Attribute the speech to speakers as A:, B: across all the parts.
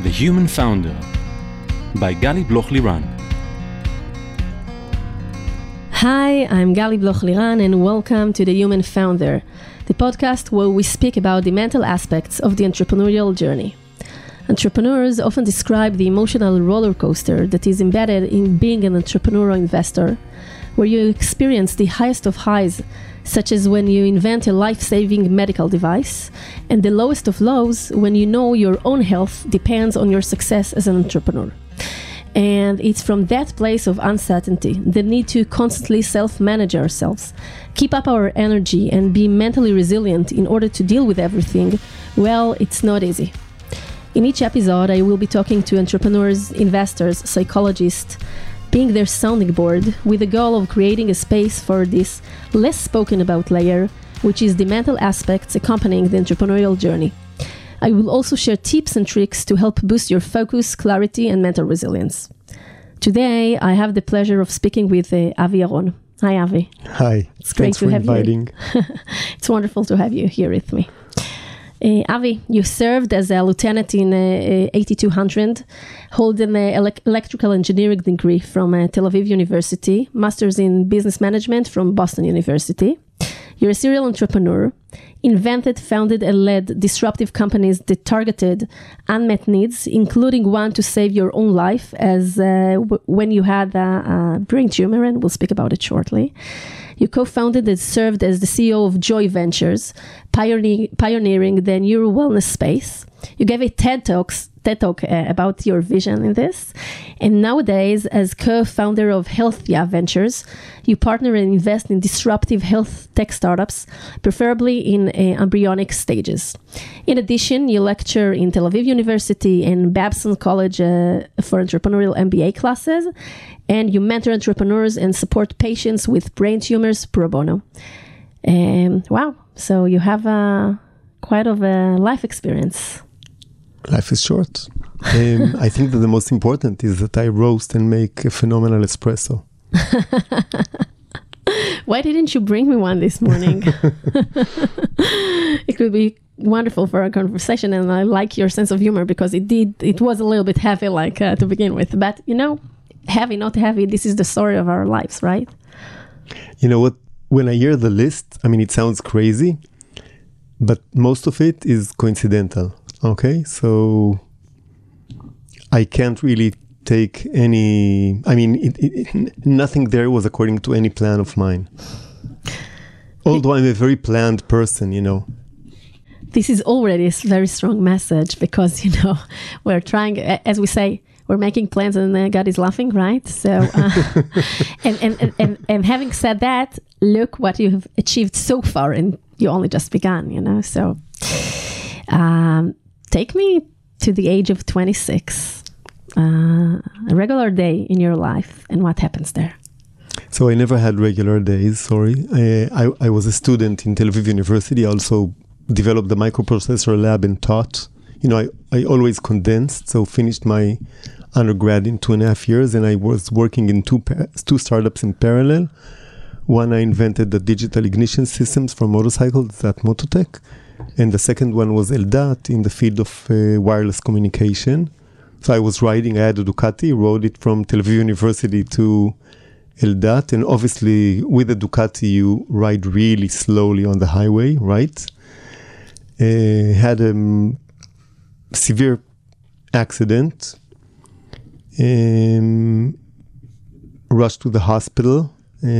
A: The Human Founder by Gali Bloch-Liran.
B: Hi, I'm Gali Bloch-Liran and welcome to The Human Founder, the podcast where we speak about the mental aspects of the entrepreneurial journey. Entrepreneurs often describe the emotional roller coaster that is embedded in being an entrepreneur or investor, where you experience the highest of highs, such as when you invent a life-saving medical device, and the lowest of lows when you know your own health depends on your success as an entrepreneur. And it's from that place of uncertainty, the need to constantly self-manage ourselves, keep up our energy and be mentally resilient in order to deal with everything, well, it's not easy. In each episode, I will be talking to entrepreneurs, investors, psychologists, being their sounding board with the goal of creating a space for this less spoken about layer, which is the mental aspects accompanying the entrepreneurial journey. I will also share tips and tricks to help boost your focus, clarity, and mental resilience. Today, I have the pleasure of speaking with Avi Yaron. Hi, Avi.
C: Hi.
B: It's great to have
C: inviting.
B: you. It's wonderful to have you here with me. Avi, you served as a lieutenant in 8200, hold an electrical engineering degree from Tel Aviv University, master's in business management from Boston University. You're a serial entrepreneur, invented, founded, and led disruptive companies that targeted unmet needs, including one to save your own life as when you had a brain tumor, and we'll speak about it shortly. You co-founded and served as the CEO of Joy Ventures, pioneering the neuro wellness space. You gave a TED Talk about your vision in this. And nowadays, as co-founder of Healthia Ventures, you partner and invest in disruptive health tech startups, preferably in embryonic stages. In addition, you lecture in Tel Aviv University and Babson College for entrepreneurial MBA classes, and you mentor entrepreneurs and support patients with brain tumors pro bono. Wow, so you have quite of a life experience.
C: Life is short. I think that the most important is that I roast and make a phenomenal espresso.
B: Why didn't you bring me one this morning? It would be wonderful for our conversation, and I like your sense of humor because it was a little bit heavy to begin with. But, heavy, not heavy, this is the story of our lives, right?
C: You know what? When I hear the list, it sounds crazy, but most of it is coincidental. Okay, so I can't really take any, nothing there was according to any plan of mine. Although I'm a very planned person,
B: This is already a very strong message because, we're trying, as we say, we're making plans and God is laughing, right? So, and having said that, look what you have achieved so far and you only just begun, so... Take me to the age of 26, a regular day in your life, and what happens there?
C: So I never had regular days, sorry. I was a student in Tel Aviv University. I also developed the microprocessor lab and taught. I always condensed, so finished my undergrad in 2.5 years, and I was working in two startups in parallel. One, I invented the digital ignition systems for motorcycles at Mototech. And the second one was Eldat in the field of wireless communication. So I was riding, I had a Ducati, rode it from Tel Aviv University to Eldat. And obviously with the Ducati, you ride really slowly on the highway, right? Had a severe accident. Rushed to the hospital.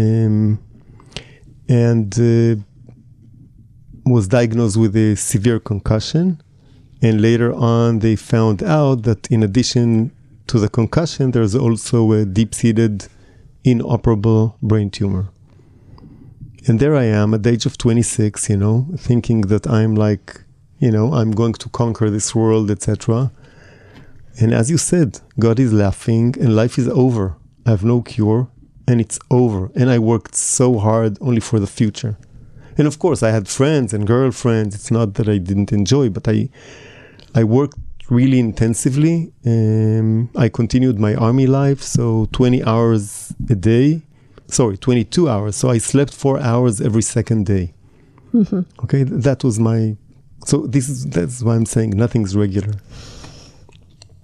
C: Was diagnosed with a severe concussion, and later on they found out that in addition to the concussion there's also a deep-seated inoperable brain tumor. And there I am at the age of 26, thinking that I'm I'm going to conquer this world, etc. And as you said, God is laughing and life is over. I have no cure and it's over, and I worked so hard only for the future. And of course, I had friends and girlfriends. It's not that I didn't enjoy, but I worked really intensively. I continued my army life, so 20 hours a day. 22 hours. So I slept 4 hours every second day. Mm-hmm. Okay, that was my... So that's why I'm saying nothing's regular.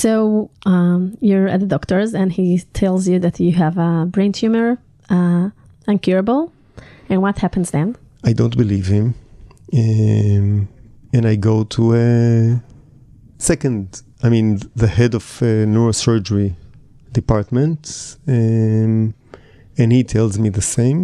B: So you're at the doctor's and he tells you that you have a brain tumor, incurable. And what happens then?
C: I don't believe him. And I go to the head of neurosurgery department, and he tells me the same.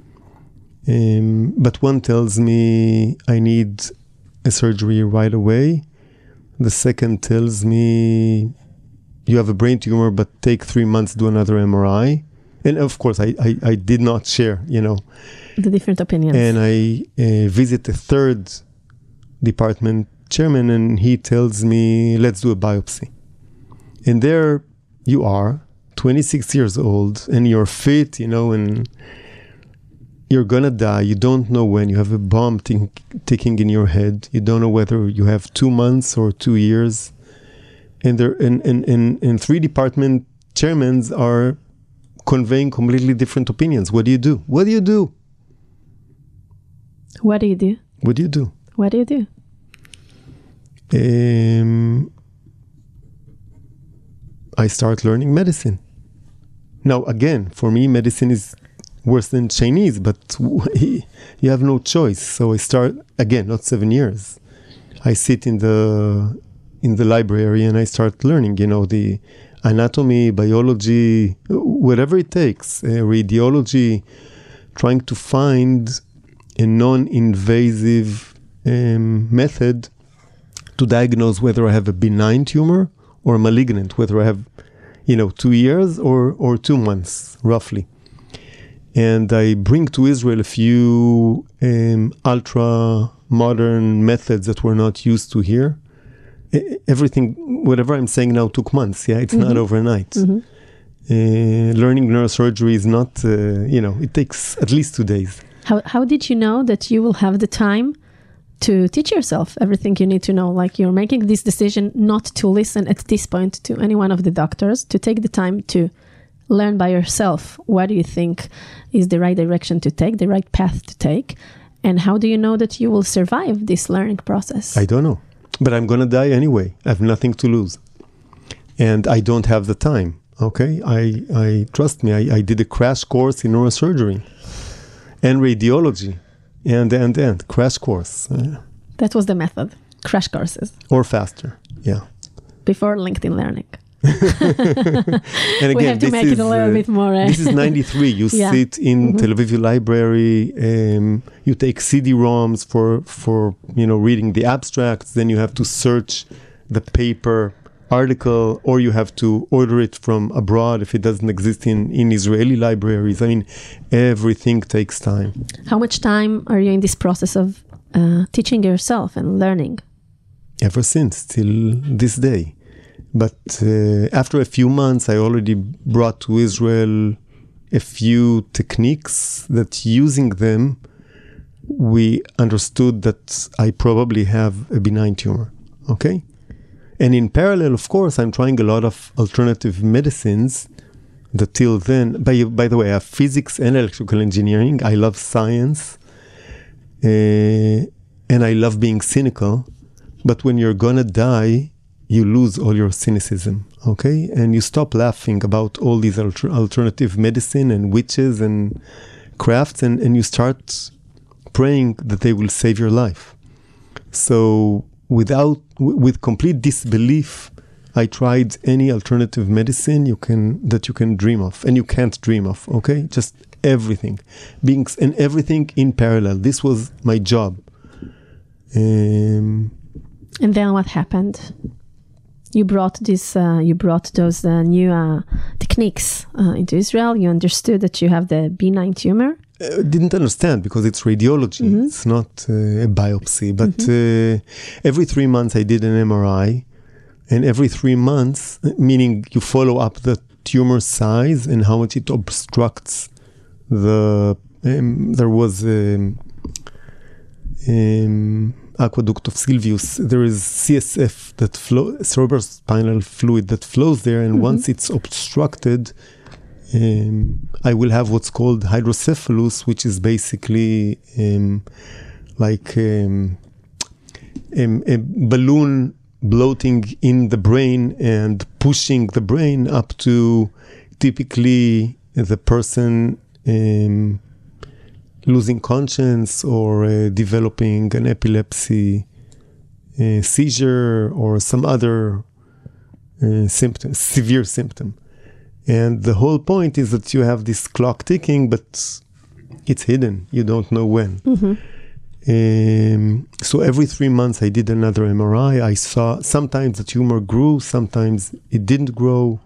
C: But one tells me I need a surgery right away. The second tells me you have a brain tumor, but take 3 months, do another MRI. And of course, I did not share,
B: the different opinions.
C: And I visit the third department chairman, and he tells me, let's do a biopsy. And there you are, 26 years old, and you're fit, and you're gonna die. You don't know when. You have a bomb ticking in your head. You don't know whether you have 2 months or 2 years. And there, and three department chairmen are conveying completely different opinions. What do you do? What do you do?
B: What do you do?
C: What do you do?
B: What do you do?
C: I start learning medicine. Now, again, for me, medicine is worse than Chinese, but you have no choice. So I start, again, not 7 years. I sit in the library and I start learning, the anatomy, biology, whatever it takes, radiology, trying to find a non-invasive method to diagnose whether I have a benign tumor or malignant, whether I have, 2 years or 2 months, roughly. And I bring to Israel a few ultra-modern methods that were not used to here. Everything, whatever I'm saying now, took months. Yeah, it's not overnight. Learning neurosurgery is not, it takes at least 2 days.
B: How did you know that you will have the time to teach yourself everything you need to know? Like, you're making this decision not to listen at this point to any one of the doctors, to take the time to learn by yourself. What do you think is the right direction to take, the right path to take? And how do you know that you will survive this learning process?
C: I don't know. But I'm going to die anyway. I have nothing to lose. And I don't have the time. Okay? I trust me, I did a crash course in neurosurgery and radiology. And crash course.
B: That was the method. Crash courses.
C: Or faster. Yeah.
B: Before LinkedIn Learning.
C: And again,
B: we have to make it a little bit more.
C: This is 93. You sit in Tel Aviv Library. You take CD-ROMs for reading the abstracts. Then you have to search the paper article, or you have to order it from abroad if it doesn't exist in Israeli libraries. I mean, everything takes time.
B: How much time are you in this process of teaching yourself and learning?
C: Ever since, till this day. But after a few months, I already brought to Israel a few techniques that, using them, we understood that I probably have a benign tumor. Okay? And in parallel, of course, I'm trying a lot of alternative medicines that till then, by the way, I have physics and electrical engineering. I love science. And I love being cynical. But when you're gonna die, you lose all your cynicism, okay? And you stop laughing about all these alternative medicine and witches and crafts, and you start praying that they will save your life. So with complete disbelief, I tried any alternative medicine that you can dream of, and you can't dream of, okay? Just everything, and everything in parallel. This was my job.
B: And then what happened? You brought those new techniques into Israel. You understood that you have the benign tumor.
C: Didn't understand because it's radiology. It's not a biopsy. But every 3 months I did an MRI, and every 3 months, meaning you follow up the tumor size and how much it obstructs the. There was aqueduct of Silvius. There is CSF that cerebral spinal fluid that flows there, and once it's obstructed, I will have what's called hydrocephalus, which is basically like a balloon bloating in the brain and pushing the brain up to typically the person losing conscience or developing an epilepsy seizure or some other symptom, severe symptom. And the whole point is that you have this clock ticking, but it's hidden. You don't know when. So every 3 months I did another MRI. I saw sometimes the tumor grew, sometimes it didn't grow.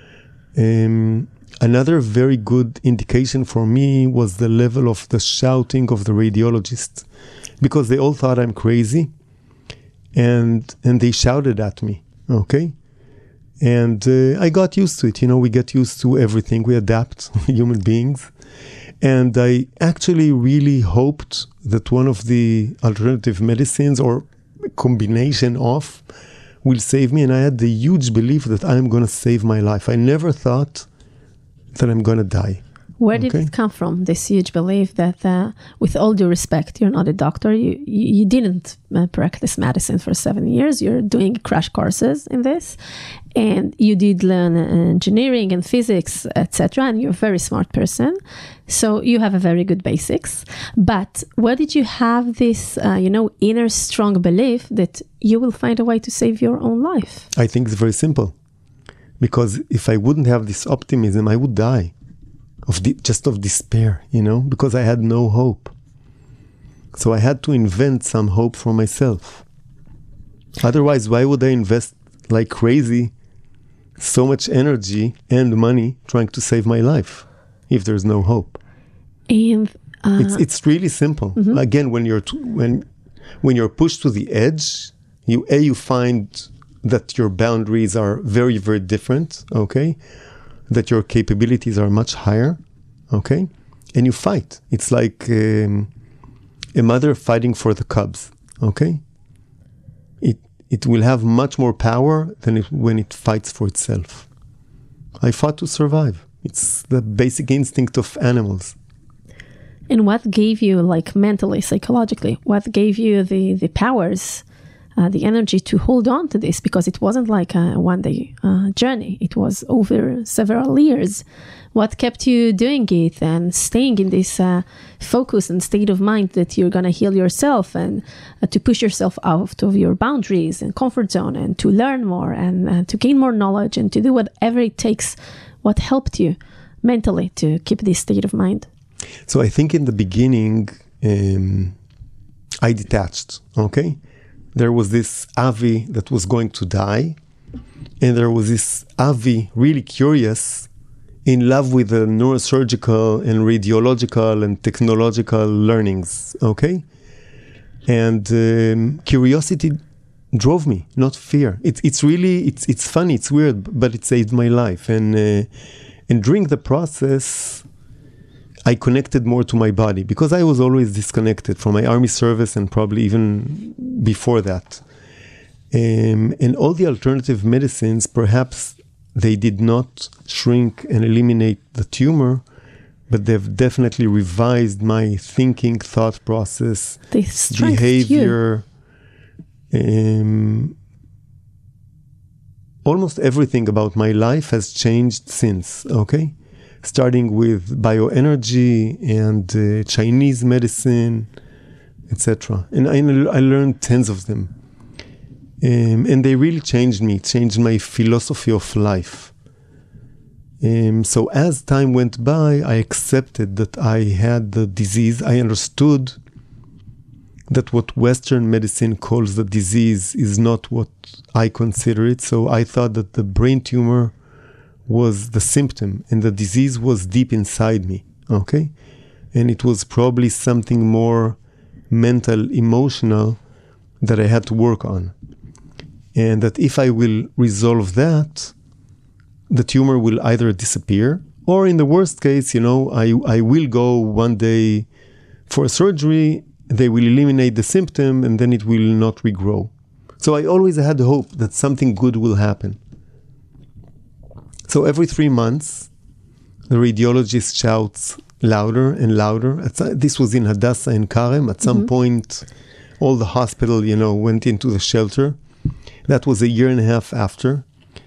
C: Another very good indication for me was the level of the shouting of the radiologist, because they all thought I'm crazy, and they shouted at me, okay? And I got used to it. We get used to everything. We adapt, human beings. And I actually really hoped that one of the alternative medicines or combination of will save me. And I had the huge belief that I'm going to save my life. I never thought that I'm going to die.
B: Where did it come from, this huge belief that, with all due respect, you're not a doctor, you didn't practice medicine for 7 years, you're doing crash courses in this, and you did learn engineering and physics, etc., and you're a very smart person, so you have a very good basics. But where did you have this, inner strong belief that you will find a way to save your own life?
C: I think it's very simple. Because if I wouldn't have this optimism, I would die of despair, because I had no hope. So I had to invent some hope for myself. Otherwise, why would I invest like crazy so much energy and money trying to save my life if there's no hope?
B: And
C: it's really simple. Mm-hmm. Again, when you're pushed to the edge, you find that your boundaries are very, very different, okay? That your capabilities are much higher, okay? And you fight. It's like a mother fighting for the cubs, okay? It will have much more power than when it fights for itself. I fought to survive. It's the basic instinct of animals.
B: And what gave you, mentally, psychologically, what gave you the powers, the energy to hold on to this? Because it wasn't like a one-day journey. It was over several years. What kept you doing it and staying in this focus and state of mind that you're going to heal yourself and to push yourself out of your boundaries and comfort zone and to learn more and to gain more knowledge and to do whatever it takes? What helped you mentally to keep this state of mind?
C: So I think in the beginning, I detached, okay? There was this Avi that was going to die, and there was this Avi, really curious, in love with the neurosurgical and radiological and technological learnings, okay? And curiosity drove me, not fear. It's funny, it's weird, but it saved my life. And during the process, I connected more to my body because I was always disconnected from my army service and probably even before that. And all the alternative medicines, perhaps they did not shrink and eliminate the tumor, but they've definitely revised my thinking, thought process, behavior. Almost everything about my life has changed since, okay? Starting with bioenergy and Chinese medicine, etc. And I learned tens of them. And they really changed me, changed my philosophy of life. So as time went by, I accepted that I had the disease. I understood that what Western medicine calls the disease is not what I consider it. So I thought that the brain tumor was the symptom and the disease was deep inside me, okay? And it was probably something more mental, emotional that I had to work on. And that if I will resolve that, the tumor will either disappear or in the worst case, I will go one day for surgery, they will eliminate the symptom and then it will not regrow. So I always had hope that something good will happen. So every 3 months, the radiologist shouts louder and louder. This was in Hadassah and Karem. At some point, all the hospital, went into the shelter. That was a year and a half after.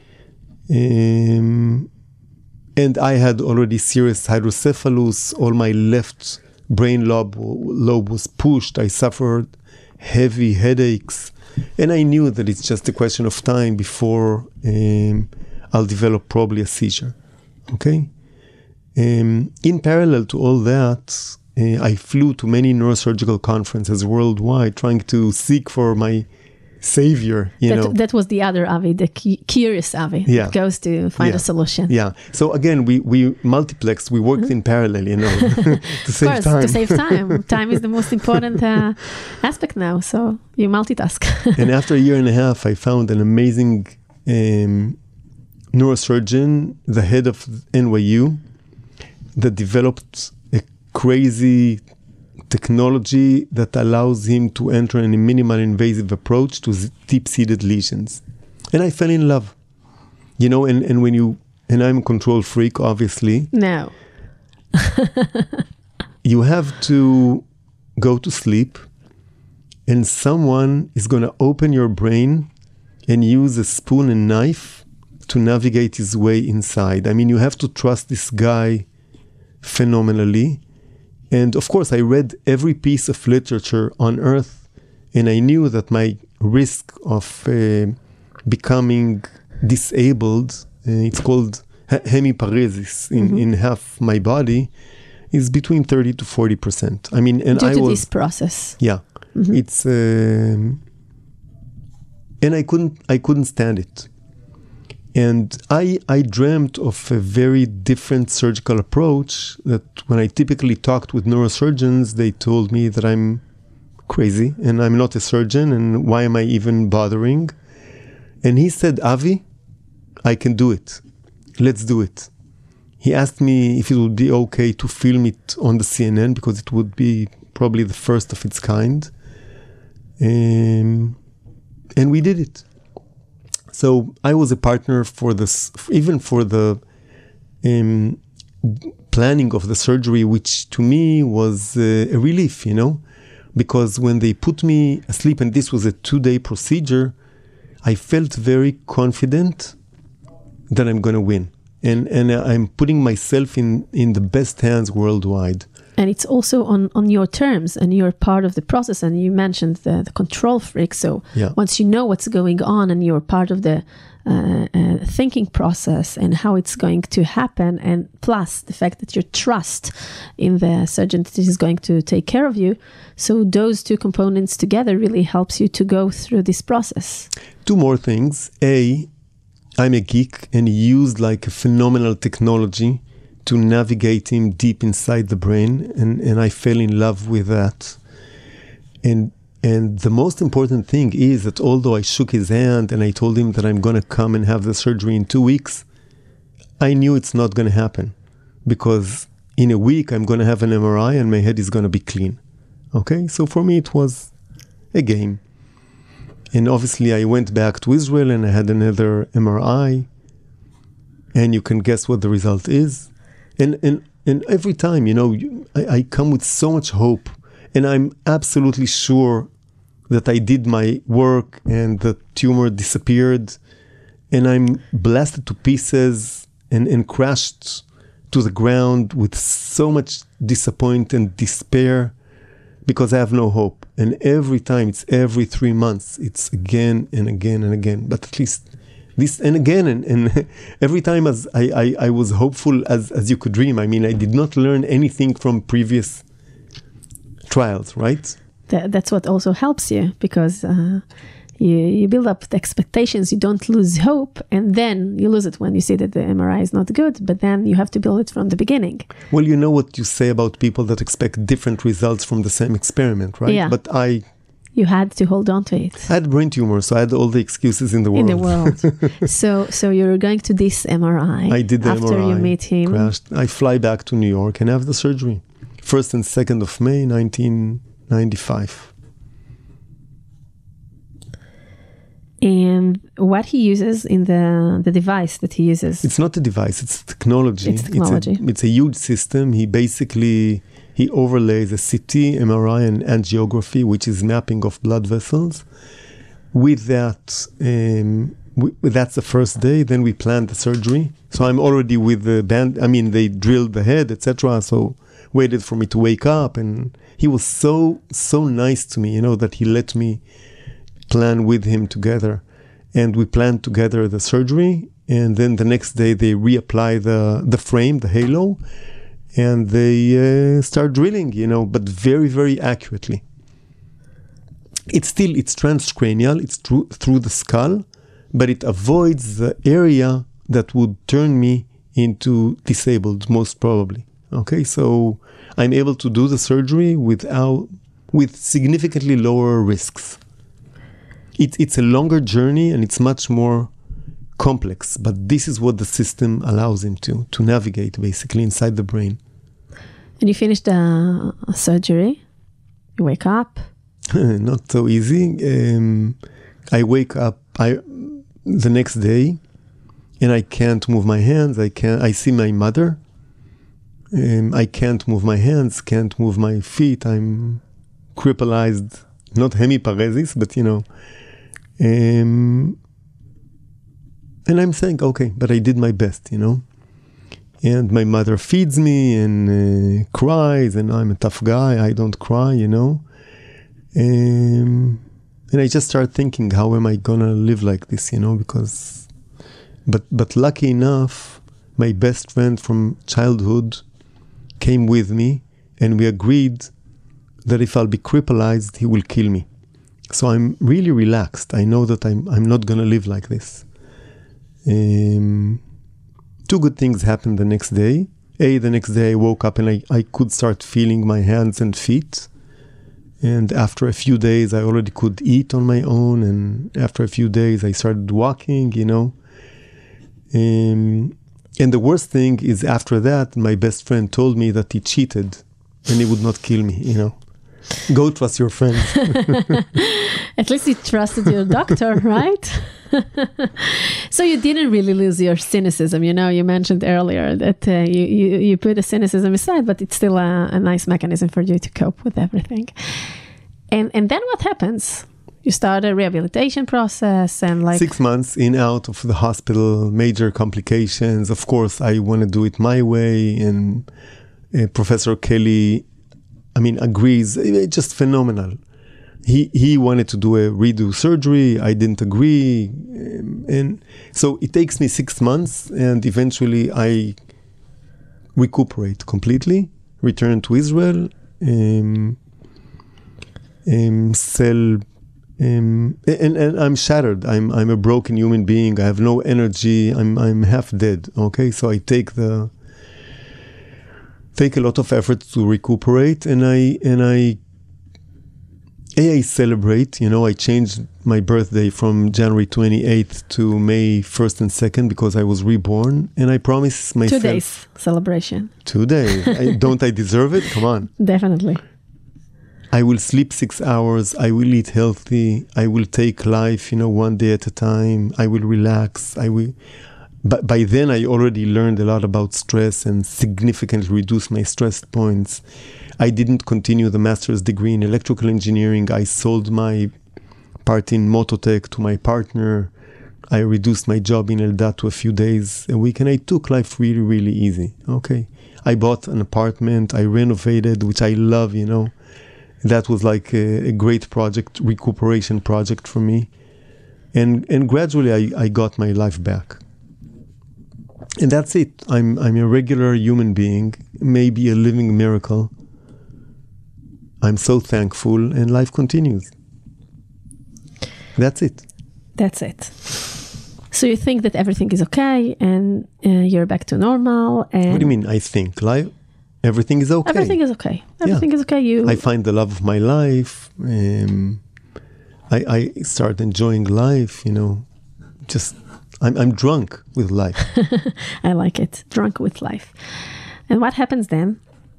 C: And I had already serious hydrocephalus. All my left brain lobe was pushed. I suffered heavy headaches. And I knew that it's just a question of time before I'll develop probably a seizure. Okay? In parallel to all that, I flew to many neurosurgical conferences worldwide trying to seek for my savior,
B: That was the other Avi, the curious Avi, that goes to find a solution.
C: Yeah. So again, we multiplexed, we worked in parallel, to save time.
B: To save time. Time is the most important aspect now, so you multitask.
C: And after a year and a half, I found an amazing neurosurgeon, the head of NYU, that developed a crazy technology that allows him to enter in a minimal invasive approach to deep-seated lesions. And I fell in love. And I'm a control freak, obviously.
B: No.
C: You have to go to sleep and someone is going to open your brain and use a spoon and knife to navigate his way inside. I mean, you have to trust this guy phenomenally. And of course, I read every piece of literature on earth, and I knew that my risk of becoming disabled, it's called hemiparesis in half my body, is between 30 to 40%. I mean, and
B: due to this process.
C: Yeah. Mm-hmm. It's and I couldn't stand it. And I dreamt of a very different surgical approach that when I typically talked with neurosurgeons, they told me that I'm crazy and I'm not a surgeon and why am I even bothering? And he said, Avi, I can do it. Let's do it. He asked me if it would be okay to film it on the CNN because it would be probably the first of its kind. And we did it. So I was a partner for this, even for the planning of the surgery, which to me was a relief, because when they put me asleep, and this was a 2-day procedure, I felt very confident that I'm going to win. And I'm putting myself in the best hands worldwide.
B: And it's also on your terms, and you're part of the process. And you mentioned the control freak. So once you know what's going on and you're part of the thinking process and how it's going to happen, and plus the fact that you trust in the surgeon that is going to take care of you. So those two components together really helps you to go through this process. 2
C: more things. A, I'm a geek and used like a phenomenal technology to navigate him deep inside the brain, and I fell in love with that. And the most important thing is that although I shook his hand and I told him that I'm going to come and have the surgery in 2 weeks, I knew it's not going to happen because in a week I'm going to have an MRI and my head is going to be clean. Okay, so for me it was a game. And obviously I went back to Israel and I had another MRI, and you can guess what the result is. And every time, I come with so much hope, and I'm absolutely sure that I did my work and the tumor disappeared, and I'm blasted to pieces and crashed to the ground with so much disappointment and despair because I have no hope. And every time, it's every 3 months, it's again and again and again. But at least this and again and every time as I was hopeful as you could dream. I mean, I did not learn anything from previous trials, right?
B: That's what also helps you, because you build up the expectations, you don't lose hope, and then you lose it when you see that the MRI is not good, but then you have to build it from the beginning.
C: Well, you know what you say about people that expect different results from the same experiment, right?
B: Yeah.
C: But
B: you had to hold on to it.
C: I had brain tumor, so I had all the excuses in the world.
B: So you're going to this MRI.
C: I did the
B: after
C: MRI.
B: You meet him.
C: Crashed. I fly back to New York and have the surgery. 1st and 2nd of May, 1995.
B: And what he uses in the device that he uses?
C: It's not a device, it's technology.
B: It's technology.
C: It's a huge system. He overlays a CT, MRI, and angiography, which is mapping of blood vessels. with that, that's the first day. Then we planned the surgery. So I'm already with the band. I mean, they drilled the head, etc. So waited for me to wake up, and he was so nice to me, that he let me plan with him together. And we planned together the surgery, and then the next day they reapply the frame, the halo, and they start drilling, but very, very accurately. It's transcranial, it's through the skull, but it avoids the area that would turn me into disabled, most probably. Okay, so I'm able to do the surgery with significantly lower risks. It's a longer journey and it's much more complex, but this is what the system allows him to navigate basically inside the brain.
B: And you finished the surgery, you wake up.
C: Not so easy. I wake up the next day and I can't move my hands. I see my mother. I can't move my hands, can't move my feet. I'm crippleized, not hemiparesis, but and I'm saying, okay, but I did my best, And my mother feeds me and cries, and I'm a tough guy. I don't cry, And I just start thinking, how am I gonna live like this, because, but lucky enough, my best friend from childhood came with me, and we agreed that if I'll be crippleized, he will kill me. So I'm really relaxed. I know that I'm not gonna live like this. Two good things happened the next day. The next day I woke up and I could start feeling my hands and feet. And after a few days, I already could eat on my own. And after a few days, I started walking, And the worst thing is after that, my best friend told me that he cheated and he would not kill me, Go trust your friend.
B: At least you trusted your doctor, right? So you didn't really lose your cynicism. You mentioned earlier that you put the cynicism aside, but it's still a nice mechanism for you to cope with everything. And then what happens? You start a rehabilitation process and
C: 6 months in, out of the hospital, major complications. Of course, I want to do it my way. And Professor Kelly, agrees. It's just phenomenal. He wanted to do a redo surgery. I didn't agree. And so it takes me 6 months, and eventually I recuperate completely, return to Israel, sell, and I'm shattered. I'm a broken human being. I have no energy. I'm half dead. Okay, so I take a lot of effort to recuperate, and I celebrate. I changed my birthday from January 28th to May 1st and 2nd because I was reborn, and I promise myself
B: 2 days celebration.
C: 2 days. Don't I deserve it? Come on.
B: Definitely.
C: I will sleep 6 hours. I will eat healthy. I will take life, one day at a time. I will relax. But by then, I already learned a lot about stress and significantly reduced my stress points. I didn't continue the master's degree in electrical engineering. I sold my part in Mototech to my partner. I reduced my job in Eldat to a few days a week, and I took life really, really easy. Okay. I bought an apartment. I renovated, which I love, That was like a great project, recuperation project for me. And gradually I got my life back. And that's it. I'm a regular human being, maybe a living miracle. I'm so thankful, and life continues. That's it.
B: That's it. So you think that everything is okay, and you're back to normal. And
C: what do you mean, I think? Everything is okay.
B: Everything is okay. Everything is okay.
C: I find the love of my life. I start enjoying life, just... I'm drunk with life.
B: I like it. Drunk with life. And what happens then?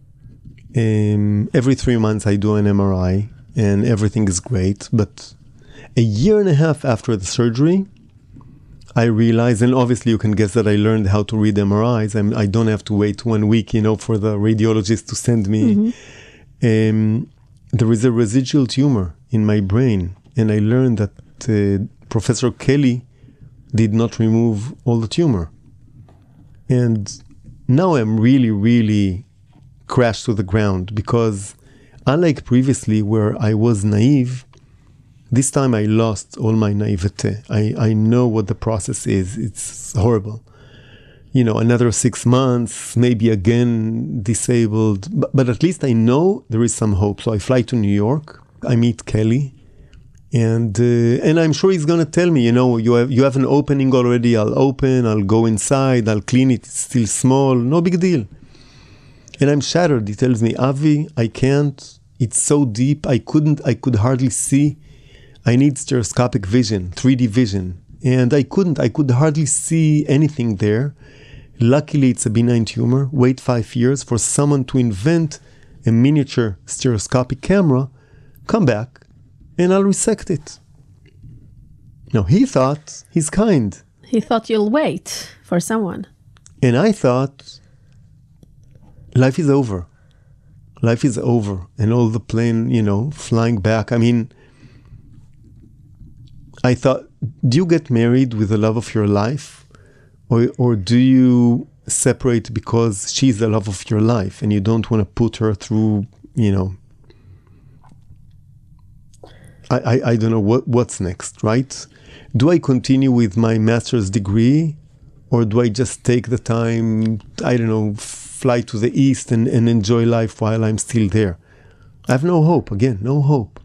C: Every 3 months I do an MRI and everything is great. But a year and a half after the surgery, I realized, and obviously you can guess that I learned how to read MRIs. I don't have to wait 1 week, for the radiologist to send me. Mm-hmm. There is a residual tumor in my brain. And I learned that Professor Kelly did not remove all the tumor. And now I'm really, really crashed to the ground, because unlike previously where I was naive, this time I lost all my naivete. I know what the process is. It's horrible. Another 6 months, maybe again disabled. But at least I know there is some hope. So I fly to New York. I meet Kelly. And I'm sure he's going to tell me, you have an opening already. I'll open, I'll go inside, I'll clean it. It's still small. No big deal. And I'm shattered. He tells me, Avi, I can't. It's so deep. I could hardly see. I need stereoscopic vision, 3D vision. And I could hardly see anything there. Luckily, it's a benign tumor. Wait 5 years for someone to invent a miniature stereoscopic camera, come back, and I'll resect it. Now, he thought he's kind.
B: He thought you'll wait for someone.
C: And I thought, life is over. Life is over. And all the plane, flying back. I mean, I thought, do you get married with the love of your life? Or do you separate because she's the love of your life and you don't want to put her through, I don't know what's next, right? Do I continue with my master's degree, or do I just take the time, fly to the east and enjoy life while I'm still there? I have no hope. Again, no hope.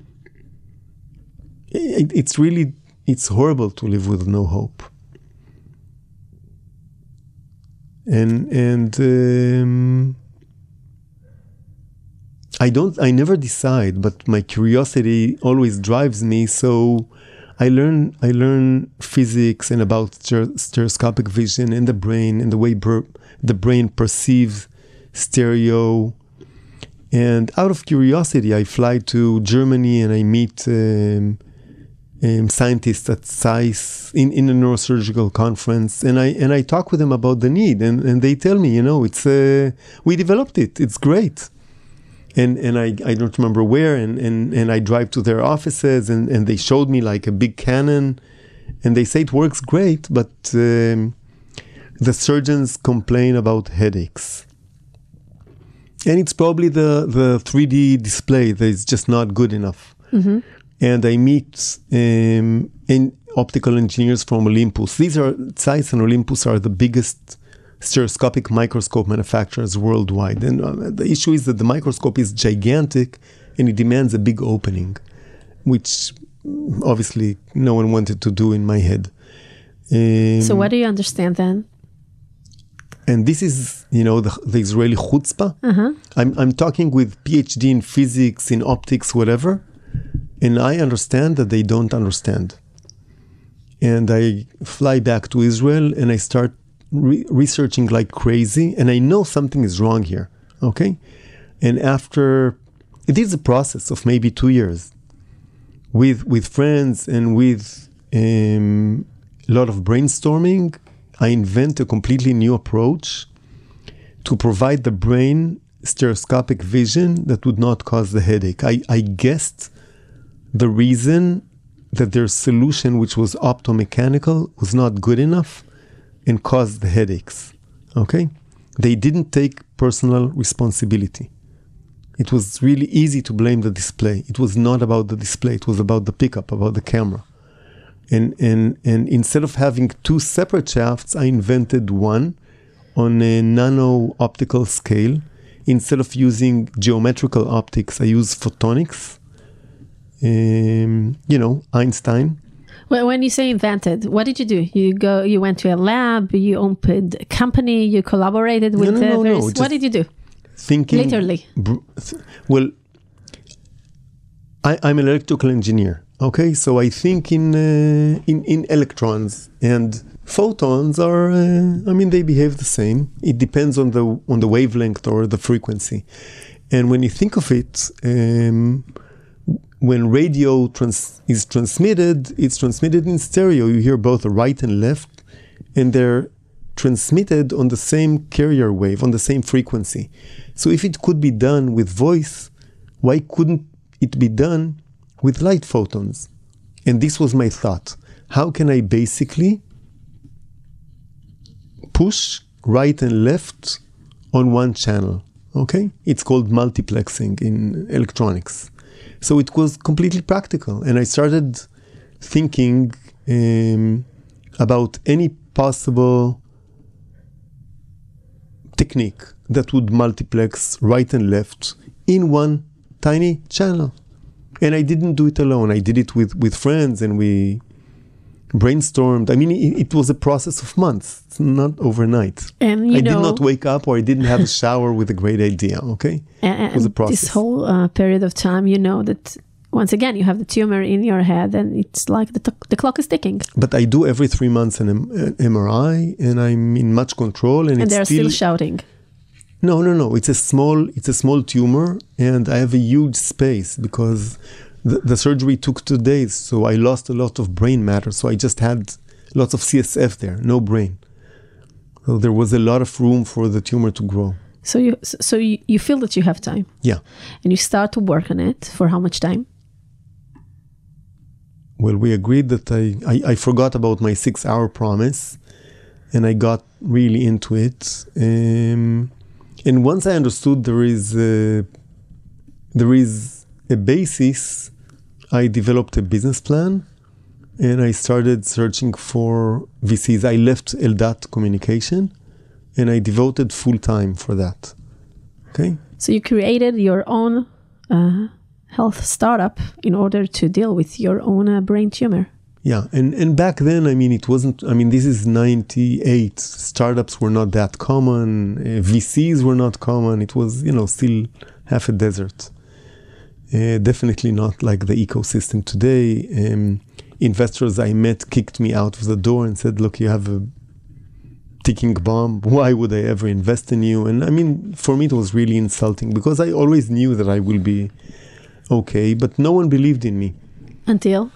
C: It's horrible to live with no hope. And I never decide, but my curiosity always drives me. So I learn physics and about stereoscopic vision and the brain and the way the brain perceives stereo. And out of curiosity, I fly to Germany and I meet scientists at SAIS in a neurosurgical conference, and I talk with them about the need, and they tell me, it's we developed it, it's great. And I don't remember where, and I drive to their offices, and they showed me like a big Canon, and they say it works great, but the surgeons complain about headaches. And it's probably the 3D display that is just not good enough. Mm-hmm. And I meet optical engineers from Olympus. Zeiss and Olympus are the biggest stereoscopic microscope manufacturers worldwide. And the issue is that the microscope is gigantic and it demands a big opening, which obviously no one wanted to do in my head.
B: So what do you understand then?
C: And this is, the Israeli chutzpah. Uh-huh. I'm talking with PhD in physics, in optics, whatever. And I understand that they don't understand. And I fly back to Israel and I start researching like crazy. And I know something is wrong here. Okay? And it is a process of maybe 2 years with friends and with a lot of brainstorming. I invent a completely new approach to provide the brain stereoscopic vision that would not cause the headache. I guessed the reason that their solution, which was optomechanical, was not good enough and caused the headaches. Okay? They didn't take personal responsibility. It was really easy to blame the display. It was not about the display. It was about the pickup, about the camera. And instead of having 2 separate shafts, I invented one on a nano optical scale. Instead of using geometrical optics, I use photonics. Einstein.
B: Well, when you say invented, what did you do? You went to a lab, you opened a company, you collaborated with various... What did you do?
C: Thinking...
B: Literally.
C: Well, I'm an electrical engineer. Okay, so I think in electrons, and photons are, they behave the same. It depends on the wavelength or the frequency. And when you think of it, when radio is transmitted, it's transmitted in stereo. You hear both the right and left, and they're transmitted on the same carrier wave, on the same frequency. So if it could be done with voice, why couldn't it be done with light photons? And this was my thought. How can I basically push right and left on one channel? Okay? It's called multiplexing in electronics. So it was completely practical. And I started thinking about any possible technique that would multiplex right and left in one tiny channel. And I didn't do it alone. I did it with friends, and we brainstormed. I mean, it was a process of months. It's not overnight.
B: And
C: I did not wake up, or I didn't have a shower with a great idea, okay?
B: And
C: it was a process.
B: This whole period of time, that once again, you have the tumor in your head, and it's like the clock is ticking.
C: But I do every 3 months an MRI, and I'm in much control. And
B: they're still shouting.
C: No. It's a small tumor, and I have a huge space because the surgery took 2 days. So I lost a lot of brain matter. So I just had lots of CSF there, no brain. So there was a lot of room for the tumor to grow.
B: So you feel that you have time.
C: Yeah.
B: And you start to work on it for how much time?
C: Well, we agreed that I forgot about my 6-hour promise, and I got really into it. And once I understood there is a basis, I developed a business plan, and I started searching for VCs. I left Eldat Communication, and I devoted full time for that. Okay.
B: So you created your own health startup in order to deal with your own brain tumor.
C: Yeah, and back then, I mean, this is 98. Startups were not that common. VCs were not common. It was, still half a desert. Definitely not like the ecosystem today. Investors I met kicked me out of the door and said, look, you have a ticking bomb. Why would I ever invest in you? And I mean, for me, it was really insulting because I always knew that I will be okay, but no one believed in me.
B: Until?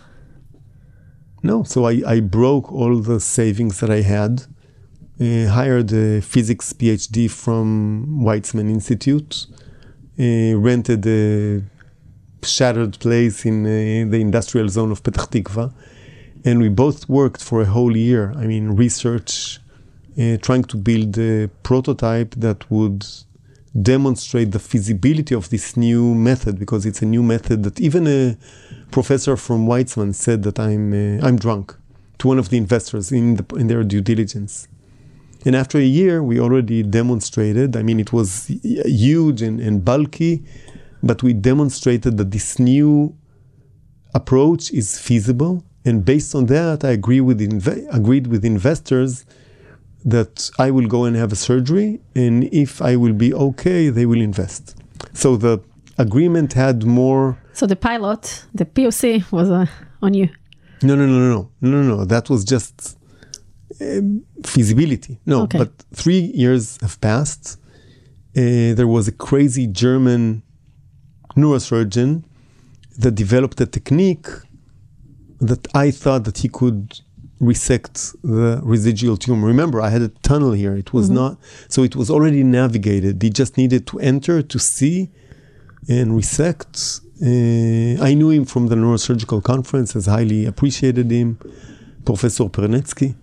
C: No, so I broke all the savings that I had, hired a physics PhD from Weizmann Institute, rented a shattered place in the industrial zone of Petah Tikva, and we both worked for a whole year. I mean, research, trying to build a prototype that would demonstrate the feasibility of this new method, because it's a new method that even a professor from Weizmann said that I'm drunk to one of the investors in their due diligence. And after a year, we already demonstrated. I mean, it was huge and bulky, but we demonstrated that this new approach is feasible. And based on that, I agreed with investors that I will go and have a surgery, and if I will be okay, they will invest. So the agreement had more...
B: So the pilot, the POC was on you?
C: No. That was just feasibility. No, okay. But 3 years have passed. There was a crazy German neurosurgeon that developed a technique that I thought that he could resect the residual tumor. Remember, I had a tunnel here. It was not, so it was already navigated. He just needed to enter to see and resect. I knew him from the neurosurgical conference, as highly appreciated him, Professor Pernetsky.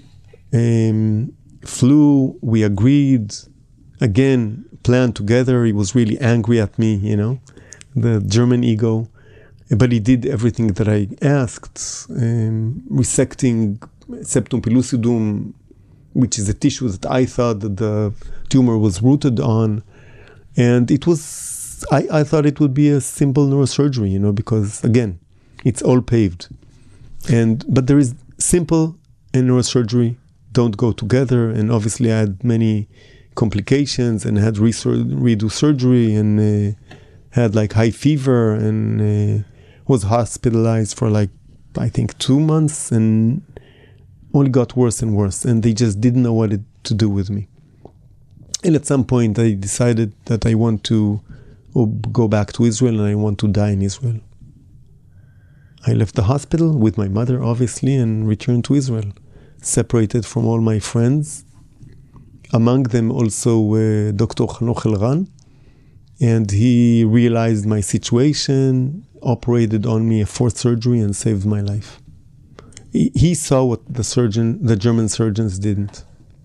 C: Flew, we agreed, again, planned together. He was really angry at me, the German ego. But he did everything that I asked, resecting septum pellucidum, which is a tissue that I thought that the tumor was rooted on. And it was, I thought it would be a simple neurosurgery, because again, it's all paved. But there is simple and neurosurgery don't go together. And obviously I had many complications and had redo surgery and had like high fever and was hospitalized for I think 2 months, and only got worse and worse. And they just didn't know what to do with me. And at some point I decided that I want to go back to Israel and I want to die in Israel. I left the hospital with my mother, obviously, and returned to Israel, separated from all my friends. Among them also Dr. Hanoch Elran. And he realized my situation, operated on me a fourth surgery and saved my life. He saw what the German surgeons didn't.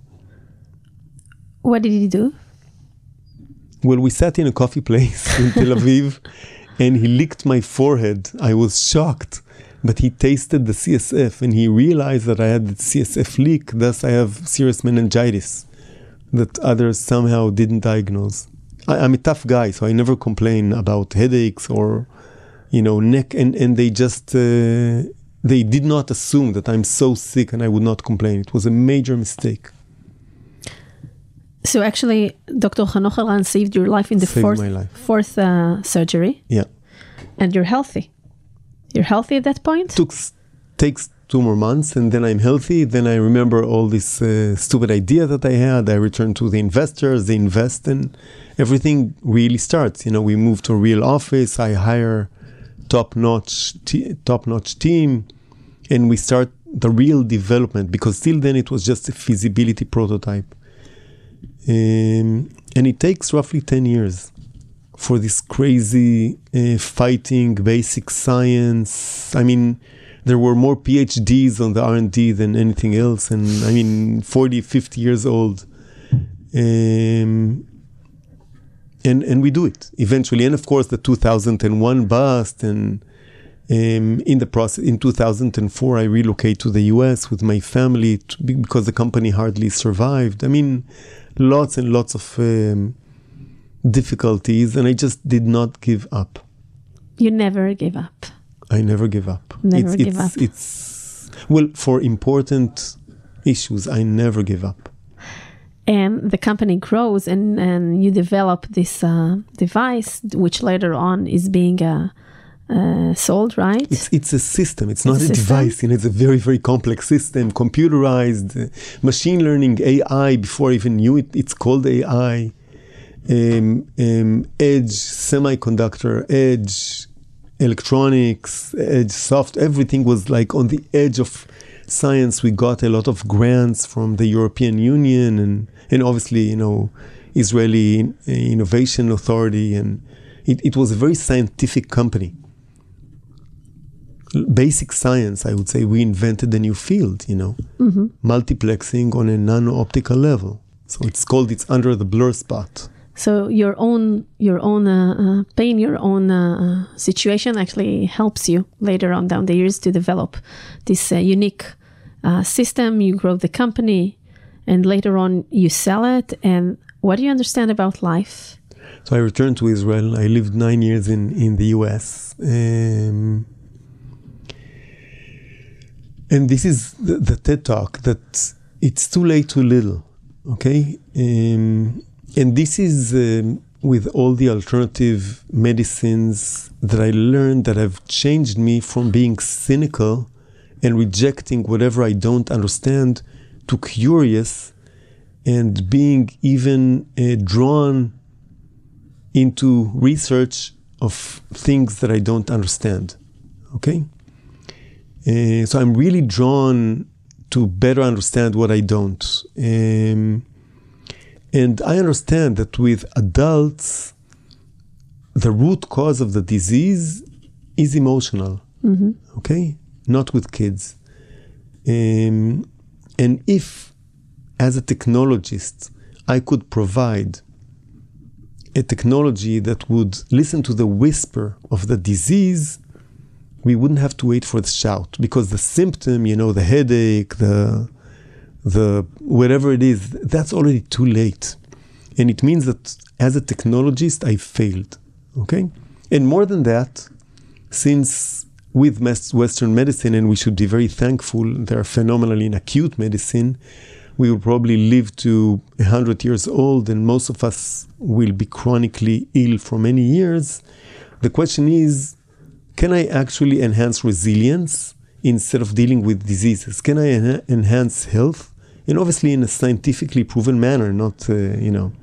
B: What did he do?
C: Well, we sat in a coffee place in Tel Aviv, and he licked my forehead. I was shocked, but he tasted the CSF, and he realized that I had the CSF leak, thus I have serious meningitis that others somehow didn't diagnose. I'm a tough guy, so I never complain about headaches or, neck, and they just... They did not assume that I'm so sick and I would not complain. It was a major mistake.
B: So actually, Dr. Hanoch Elran saved your life in the fourth surgery.
C: Yeah.
B: And you're healthy. You're healthy at that point?
C: Takes 2 more months, and then I'm healthy. Then I remember all this stupid idea that I had. I return to the investors, they invest, and everything really starts. We move to a real office. I hire top-notch team, and we start the real development, because till then it was just a feasibility prototype. And it takes roughly 10 years for this crazy fighting basic science. I mean, there were more PhDs on the R&D than anything else, and 40, 50 years old. And we do it eventually. And of course, the 2001 bust, and in the process, in 2004, I relocate to the US with my family because the company hardly survived. Lots and lots of difficulties, and I just did not give up.
B: You never give up.
C: I never give up.
B: Never give up.
C: Well, for important issues, I never give up.
B: And the company grows, and you develop this device, which later on is being sold, right?
C: It's a system. It's not a device. It's a very, very complex system, computerized, machine learning, AI. Before I even knew it, it's called AI. Edge semiconductor, edge electronics, edge soft. Everything was like on the edge of science. We got a lot of grants from the European Union and obviously, Israeli Innovation Authority, and it was a very scientific company. Basic science, I would say. We invented a new field, multiplexing on a nano-optical level. So it's under the blur spot.
B: So your own pain, your own situation actually helps you later on down the years to develop this unique system. You grow the company, and later on you sell it. And what do you understand about life?
C: So I returned to Israel. I lived 9 years in the US. And this is the TED Talk, that it's too late, too little, okay? And this is with all the alternative medicines that I learned that have changed me from being cynical and rejecting whatever I don't understand to curious and being even drawn into research of things that I don't understand, okay? So I'm really drawn to better understand what I don't. And I understand that with adults, the root cause of the disease is emotional, okay? Not with kids. And if, as a technologist, I could provide a technology that would listen to the whisper of the disease, we wouldn't have to wait for the shout, because the symptom, the headache, the whatever it is, that's already too late. And it means that as a technologist, I failed, okay? And more than that, since with Western medicine, and we should be very thankful, they're phenomenal in acute medicine, we will probably live to 100 years old, and most of us will be chronically ill for many years. The question is, can I actually enhance resilience instead of dealing with diseases? Can I enhance health? And obviously in a scientifically proven manner, not, And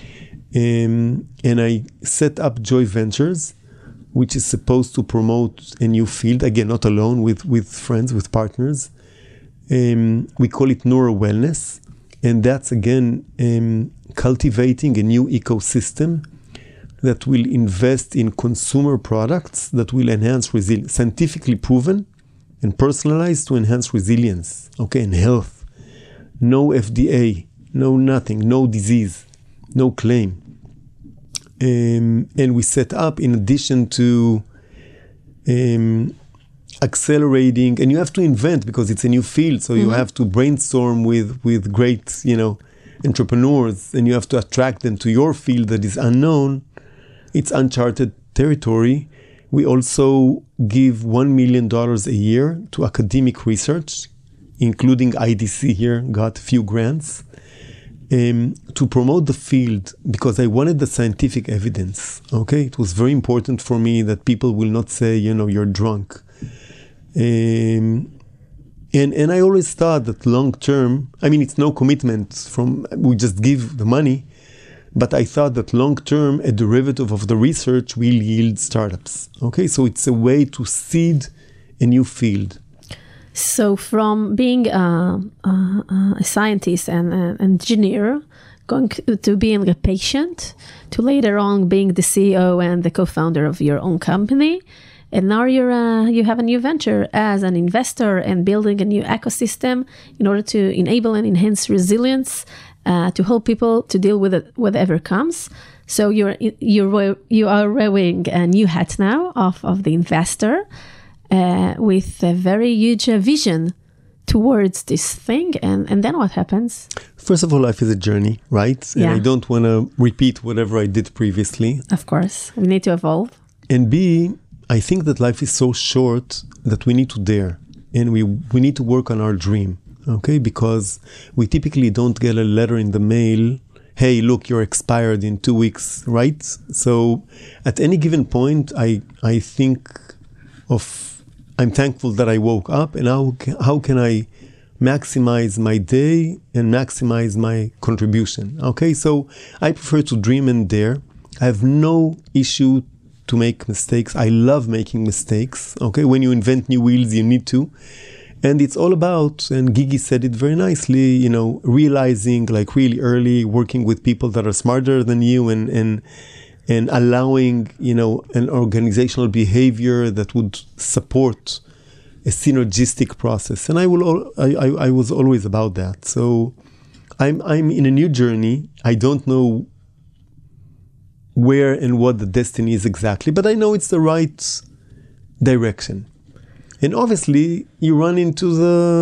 C: I set up Joy Ventures, which is supposed to promote a new field, again, not alone, with friends, with partners. We call it Neuro Wellness. And that's, again, cultivating a new ecosystem that will invest in consumer products that will enhance resilience, scientifically proven and personalized to enhance resilience, okay, and health. No FDA, no nothing, no disease, no claim. And we set up, in addition to accelerating, and you have to invent because it's a new field, so you have to brainstorm with great, entrepreneurs, and you have to attract them to your field that is unknown. It's uncharted territory. We also give $1 million a year to academic research, including IDC here, got a few grants, to promote the field because I wanted the scientific evidence, okay? It was very important for me that people will not say, you're drunk. And I always thought that long term, it's no commitment we just give the money, but I thought that long term, a derivative of the research will yield startups. Okay, so it's a way to seed a new field.
B: So from being a scientist and an engineer, going to being a patient, to later on being the CEO and the co-founder of your own company, and now you have a new venture as an investor and building a new ecosystem in order to enable and enhance resilience, to help people to deal with it, whatever comes. So you are wearing a new hat now of the investor, with a very huge vision towards this thing. And then what happens?
C: First of all, life is a journey, right? And I don't want to repeat whatever I did previously.
B: Of course, we need to evolve.
C: And B, I think that life is so short that we need to dare, and we need to work on our dream, okay? Because we typically don't get a letter in the mail, hey, look, you're expired in 2 weeks, right? So at any given point, I think I'm thankful that I woke up, and how can I maximize my day and maximize my contribution, okay? So I prefer to dream and dare. I have no issue to make mistakes. I love making mistakes, okay? When you invent new wheels, you need to. And it's all about, and Gigi said it very nicely, realizing like really early, working with people that are smarter than you and allowing, an organizational behavior that would support a synergistic process. And I was always about that. So I'm in a new journey. I don't know where and what the destiny is exactly, but I know it's the right direction. And obviously, you run into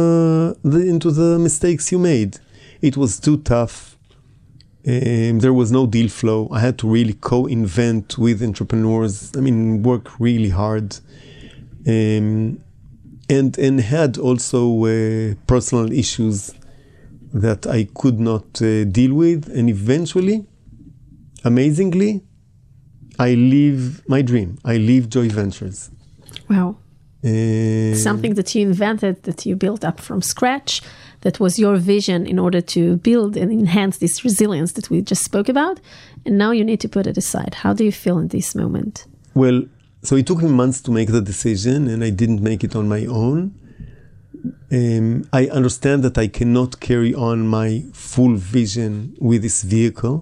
C: the mistakes you made. It was too tough. There was no deal flow. I had to really co-invent with entrepreneurs. Work really hard, and had also personal issues that I could not deal with. And eventually, amazingly, I live my dream. I live Joy Ventures.
B: Wow. Something that you invented, that you built up from scratch, that was your vision in order to build and enhance this resilience that we just spoke about. And now you need to put it aside. How do you feel in this moment?
C: Well, so it took me months to make the decision, and I didn't make it on my own. I understand that I cannot carry on my full vision with this vehicle.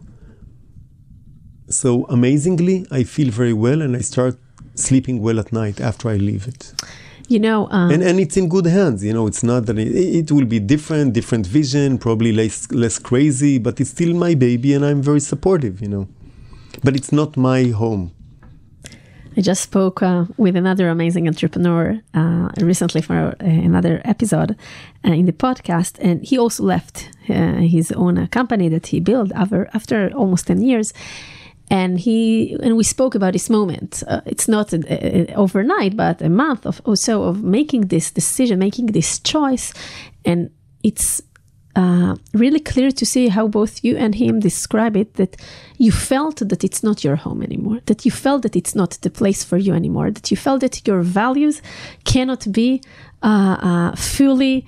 C: So amazingly, I feel very well, and I start sleeping well at night after I leave it. And it's in good hands. It's not that it will be different vision, probably less crazy, but it's still my baby, and I'm very supportive, But it's not my home.
B: I just spoke with another amazing entrepreneur recently for another episode in the podcast, and he also left his own company that he built after almost 10 years. And we spoke about this moment. It's not overnight, but a month or so of making this decision, making this choice. And it's really clear to see how both you and him describe it, that you felt that it's not your home anymore, that you felt that it's not the place for you anymore, that you felt that your values cannot be fully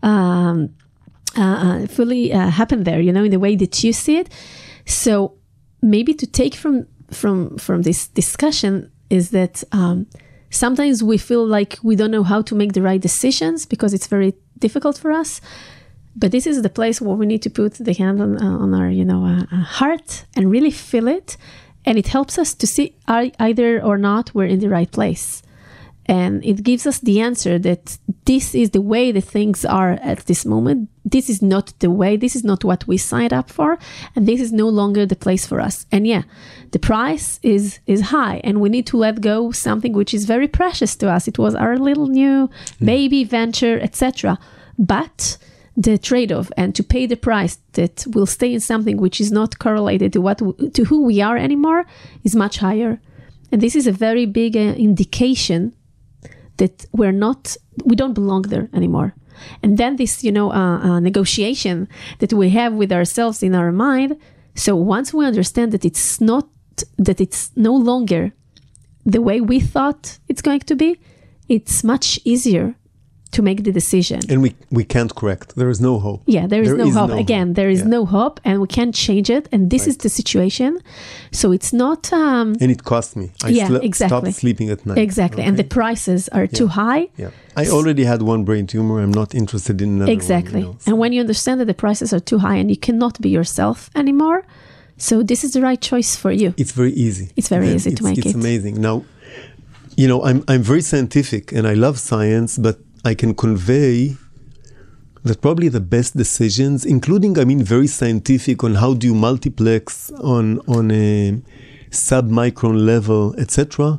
B: happen there, in the way that you see it. So maybe to take from this discussion is that sometimes we feel like we don't know how to make the right decisions because it's very difficult for us. But this is the place where we need to put the hand on our, heart and really feel it And it helps us to see either or not we're in the right place. And it gives us the answer that this is the way the things are at this moment. This is not the way, this is not what we signed up for, and this is no longer the place for us. And yeah, the price is high, and we need to let go something which is very precious to us. It was our little new baby venture, etc. But the trade-off and to pay the price that will stay in something which is not correlated to who we are anymore is much higher. And this is a very big indication that we don't belong there anymore. And then this, negotiation that we have with ourselves in our mind. So once we understand that it's no longer the way we thought it's going to be, it's much easier to make the decision.
C: And we can't correct. There is no hope.
B: Yeah, there is no hope. Again, there is no hope, and we can't change it. And this is the situation. So it's not...
C: and it cost me. I stopped sleeping at night.
B: Exactly. Okay. And the prices are too high.
C: Yeah. I already had one brain tumor. I'm not interested in another
B: Exactly.
C: one.
B: And when you understand that the prices are too high and you cannot be yourself anymore, so this is the right choice for you.
C: It's very easy.
B: It's very easy to make it.
C: It's amazing. Now, I'm very scientific and I love science, but I can convey that probably the best decisions, including, very scientific on how do you multiplex on a sub-micron level, etc.,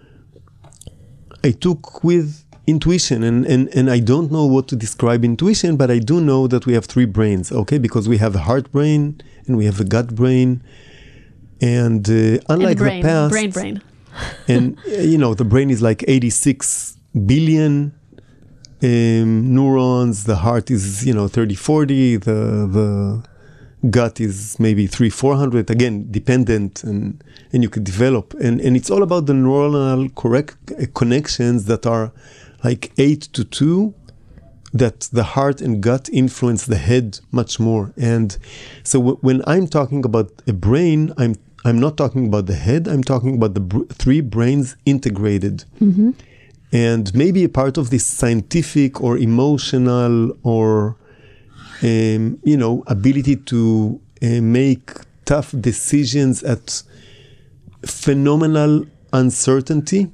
C: I took with intuition. And I don't know what to describe intuition, but I do know that we have three brains, okay? Because we have a heart brain and we have a gut brain. And unlike the past...
B: Brain.
C: And, the brain is like 86 billion neurons, the heart is 30-40, the gut is maybe 300-400, again dependent, and you could develop, and it's all about the neuronal connections that are like 8-2, that the heart and gut influence the head much more. And so when I'm talking about a brain, I'm not talking about the head, I'm talking about the three brains integrated. Mm-hmm. And maybe a part of this scientific or emotional or, ability to make tough decisions at phenomenal uncertainty.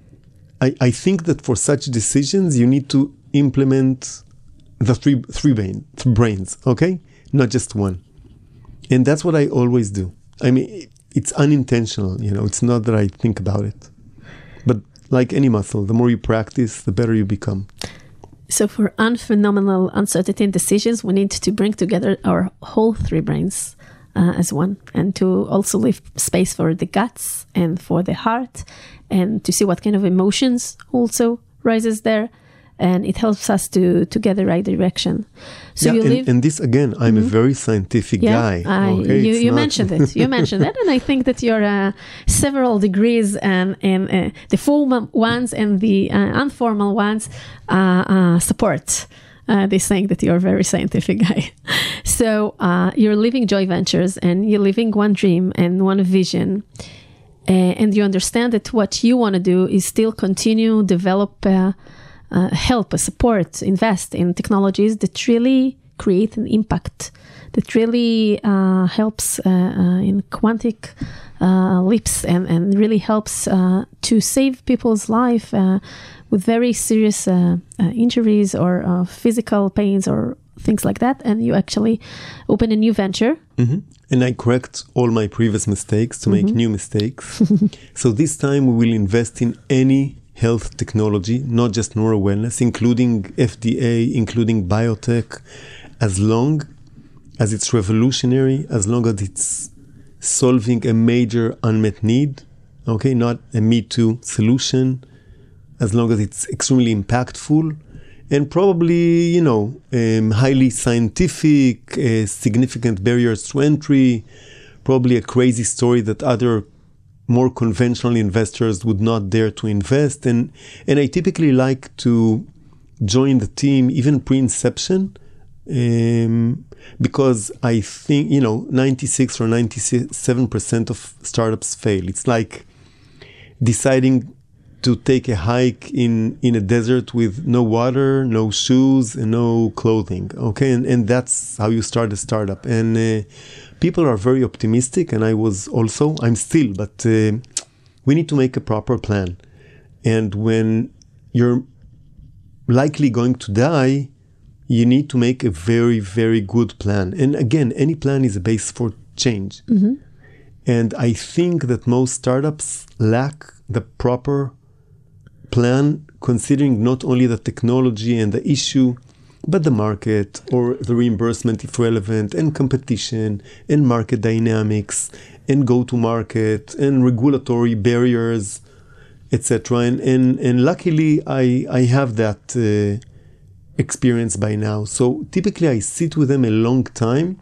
C: I think that for such decisions, you need to implement the three brains, okay? Not just one. And that's what I always do. It's unintentional, it's not that I think about it. But like any muscle, the more you practice, the better you become.
B: So for unphenomenal uncertainty in decisions, we need to bring together our whole three brains as one, and to also leave space for the guts and for the heart, and to see what kind of emotions also rises there. And it helps us to get the right direction. So
C: and this again, I'm a very scientific guy.
B: You mentioned it. You mentioned it, and I think that your several degrees and the formal ones and the informal ones support this saying that you're a very scientific guy. So you're living Joy Ventures, and you're living one dream and one vision. And you understand that what you want to do is still continue, develop, help, support, invest in technologies that really create an impact, that really helps in quantic leaps and really helps to save people's life with very serious injuries or physical pains or things like that. And you actually open a new venture.
C: Mm-hmm. And I correct all my previous mistakes to make new mistakes. So this time we will invest in any health technology, not just neuro wellness, including FDA, including biotech, as long as it's revolutionary, as long as it's solving a major unmet need, okay, not a me too solution, as long as it's extremely impactful, and probably, highly scientific, significant barriers to entry, probably a crazy story that other more conventional investors would not dare to invest. And I typically like to join the team even pre-inception, because I think, 96 or 97% of startups fail. It's like deciding to take a hike in a desert with no water, no shoes, and no clothing. Okay, and that's how you start a startup. And people are very optimistic, and I'm still, but we need to make a proper plan. And when you're likely going to die, you need to make a very, very good plan. And again, any plan is a base for change.
B: Mm-hmm.
C: And I think that most startups lack the proper plan, considering not only the technology and the issue, but the market or the reimbursement if relevant, and competition and market dynamics and go-to-market and regulatory barriers, etc. And luckily, I have that experience by now. So typically, I sit with them a long time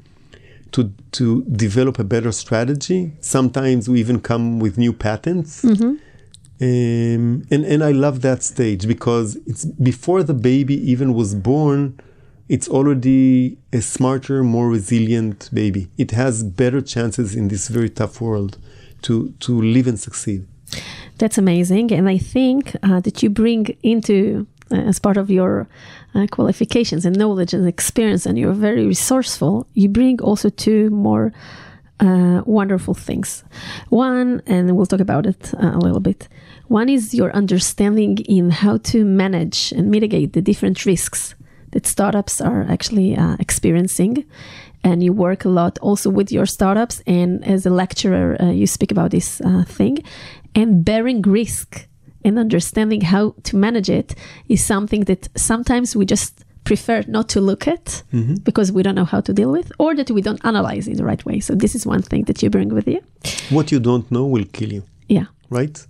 C: to develop a better strategy. Sometimes we even come with new patents.
B: Mm-hmm.
C: And I love that stage because it's before the baby even was born, it's already a smarter, more resilient baby. It has better chances in this very tough world to live and succeed.
B: That's amazing. And I think that you bring into, as part of your qualifications and knowledge and experience, and you're very resourceful, you bring also two more wonderful things. One, and we'll talk about it a little bit. One is your understanding in how to manage and mitigate the different risks that startups are actually experiencing. And you work a lot also with your startups. And as a lecturer, you speak about this thing. And bearing risk and understanding how to manage it is something that sometimes we just prefer not to look at because we don't know how to deal with, or that we don't analyze in the right way. So this is one thing that you bring with you.
C: What you don't know will kill you.
B: Yeah.
C: Right?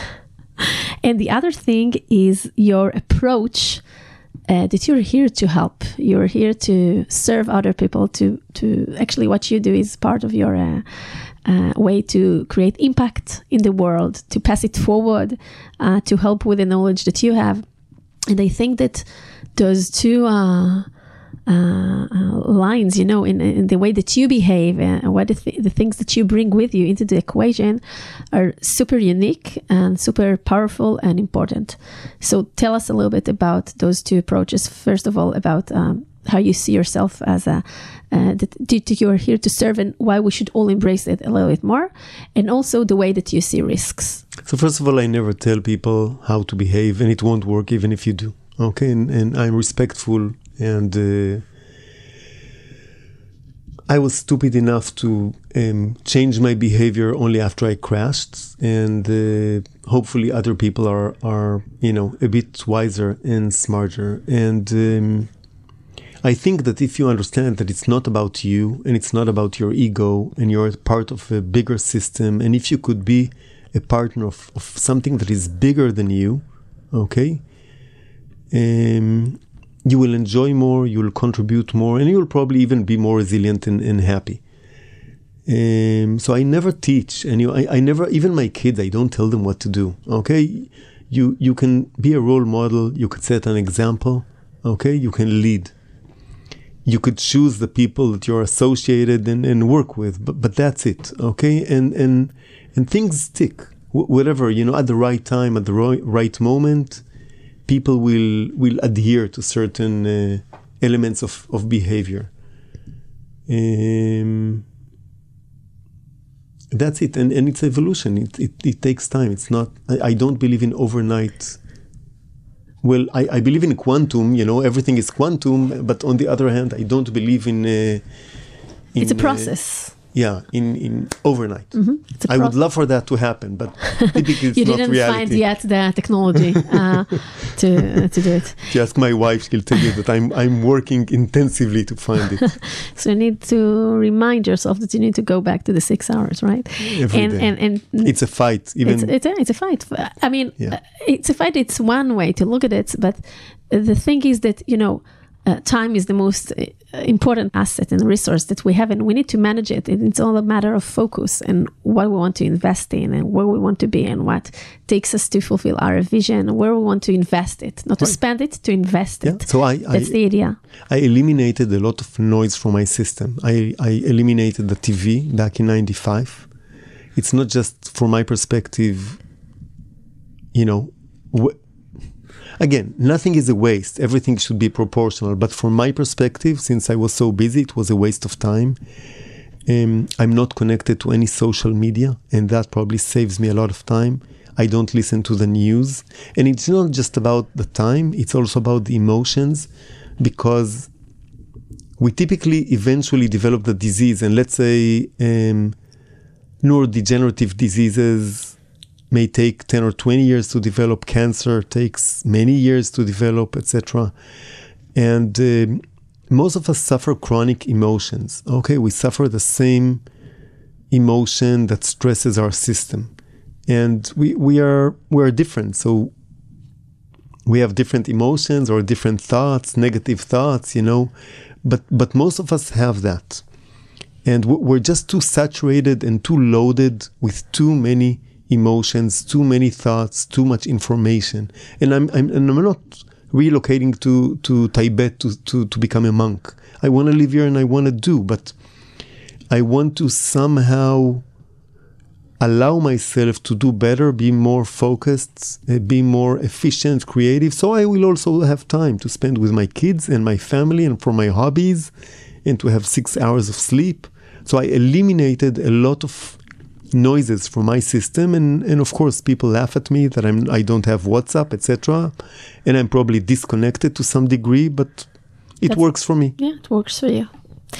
B: And the other thing is your approach that you're here to help. You're here to serve other people, to actually what you do is part of your way to create impact in the world, to pass it forward, to help with the knowledge that you have. And I think that those two lines, you know, in the way that you behave and what the things that you bring with you into the equation are super unique and super powerful and important. So tell us a little bit about those two approaches. First of all, about how you see yourself as that you are here to serve, and why we should all embrace it a little bit more, and also the way that you see risks.
C: So first of all, I never tell people how to behave, and it won't work even if you do. Okay, and I'm respectful, and I was stupid enough to change my behavior only after I crashed, and hopefully other people are a bit wiser and smarter. And I think that if you understand that it's not about you and it's not about your ego, and you're part of a bigger system, and if you could be a partner of something that is bigger than you, okay, you will enjoy more, you will contribute more, and you will probably even be more resilient and happy. So I never teach, and I never, even my kids, I don't tell them what to do, okay? You can be a role model, you could set an example, okay? You can lead. You could choose the people that you're associated and work with, but that's it, okay? And things stick, whatever, at the right time, at the right moment, people will adhere to certain elements of behavior. That's it, and it's evolution. It takes time. It's not. I don't believe in overnight. Well, I believe in quantum. Everything is quantum. But on the other hand, I don't believe in.
B: It's a process.
C: In overnight.
B: Mm-hmm.
C: I would love for that to happen, but typically it's
B: you
C: not
B: didn't
C: reality.
B: Find yet the technology to do it.
C: If you ask my wife, she'll tell you that I'm working intensively to find it.
B: So you need to remind yourself that you need to go back to the 6 hours, right?
C: Every day. And it's a fight. Even
B: it's a fight. I mean, it's a fight. It's one way to look at it, but the thing is that time is the most important asset and resource that we have, and we need to manage it. And it's all a matter of focus and what we want to invest in, and where we want to be, and what takes us to fulfill our vision, where we want to invest it, not to spend it, to invest it.
C: So
B: that's the idea.
C: I eliminated a lot of noise from my system. I eliminated the TV back in 95. It's not just from my perspective, Again, nothing is a waste. Everything should be proportional. But from my perspective, since I was so busy, it was a waste of time. I'm not connected to any social media, and that probably saves me a lot of time. I don't listen to the news. And it's not just about the time, it's also about the emotions, because we typically eventually develop the disease. And let's say neurodegenerative diseases may take 10 or 20 years to develop. Cancer takes many years to develop, etc. And most of us suffer chronic emotions. Okay, we suffer the same emotion that stresses our system. And we are different. So we have different emotions or different thoughts, negative thoughts, but most of us have that. And we're just too saturated and too loaded with too many emotions, too many thoughts, too much information. And I'm not relocating to Tibet to become a monk. I want to live here and I want to do, but I want to somehow allow myself to do better, be more focused, be more efficient, creative. So I will also have time to spend with my kids and my family and for my hobbies, and to have 6 hours of sleep. So I eliminated a lot of noises from my system, and of course people laugh at me that I don't have WhatsApp, etc. And I'm probably disconnected to some degree, but it works for me.
B: Yeah, it works for you.